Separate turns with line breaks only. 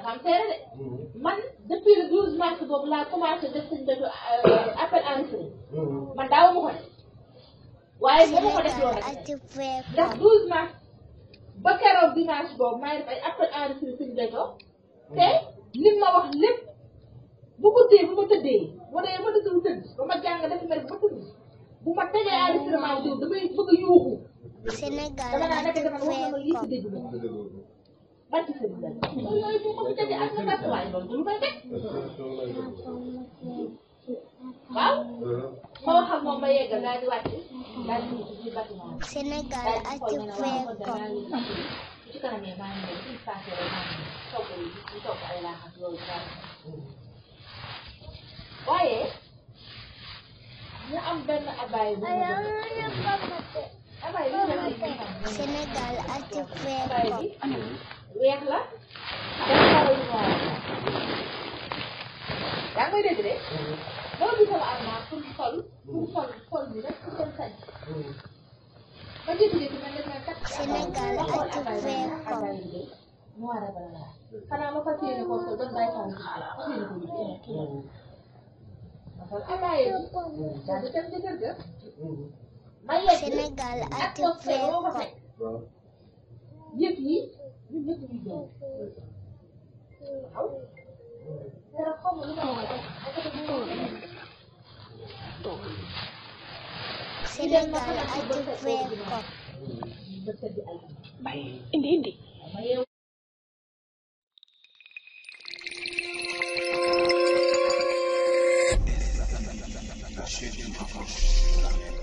dafa am seere de man depuis le 12 mars boobu laa commencé def sëñ Béthio appel enregistré man daaw ma ko def waaye moo ma ko def loolu rek ndax 12 mars ba keroog dimanche boobu maa ngi def ay appel enregistré sëñ Béthio te lim ma wax lépp bu guddee bu ma tëddee bu dee ma dëgg tëdd ba ma jàng def mer ba tëdd bu ma tegee enregistrement bi damay bëgg a yuuxu
Sénégal
dama naa nekk dama wax na ma lii si dégg ma bàcc sëñ bi yooyu bu ko fi tegee ak sa waaye loolu du lu may teg waaw ma wax ak moom ba yeggal daal di wàcc daal di dugg ci bâtiment bi
Sénégal
daal di xool ma ne waaw ci kanam yi maa ngi ñëw ci passé rek maa ngi ñëw togg yi di togg ay laax ak yooyu daal waaye ñu am benn abaay bu abaay bi
Sénégal
abaay bi weex la dafa xaw a noir yaa ngi koy dégg de loolu bi sama armoire pour sol bi rek pour dem sañ ba jékki-jékki man def na kat
Sénégal
abaay bi noir a bala xanaa ma fas yéene ko sol doon bàyyi faa abaay bi daal di dem ci kër ga ma yegg
Sénégal
ak toog boo ko fekk yëpp yi ñun ñëpp ñu doon waaw dara xaw ma lu ma wax
Sénégal
indi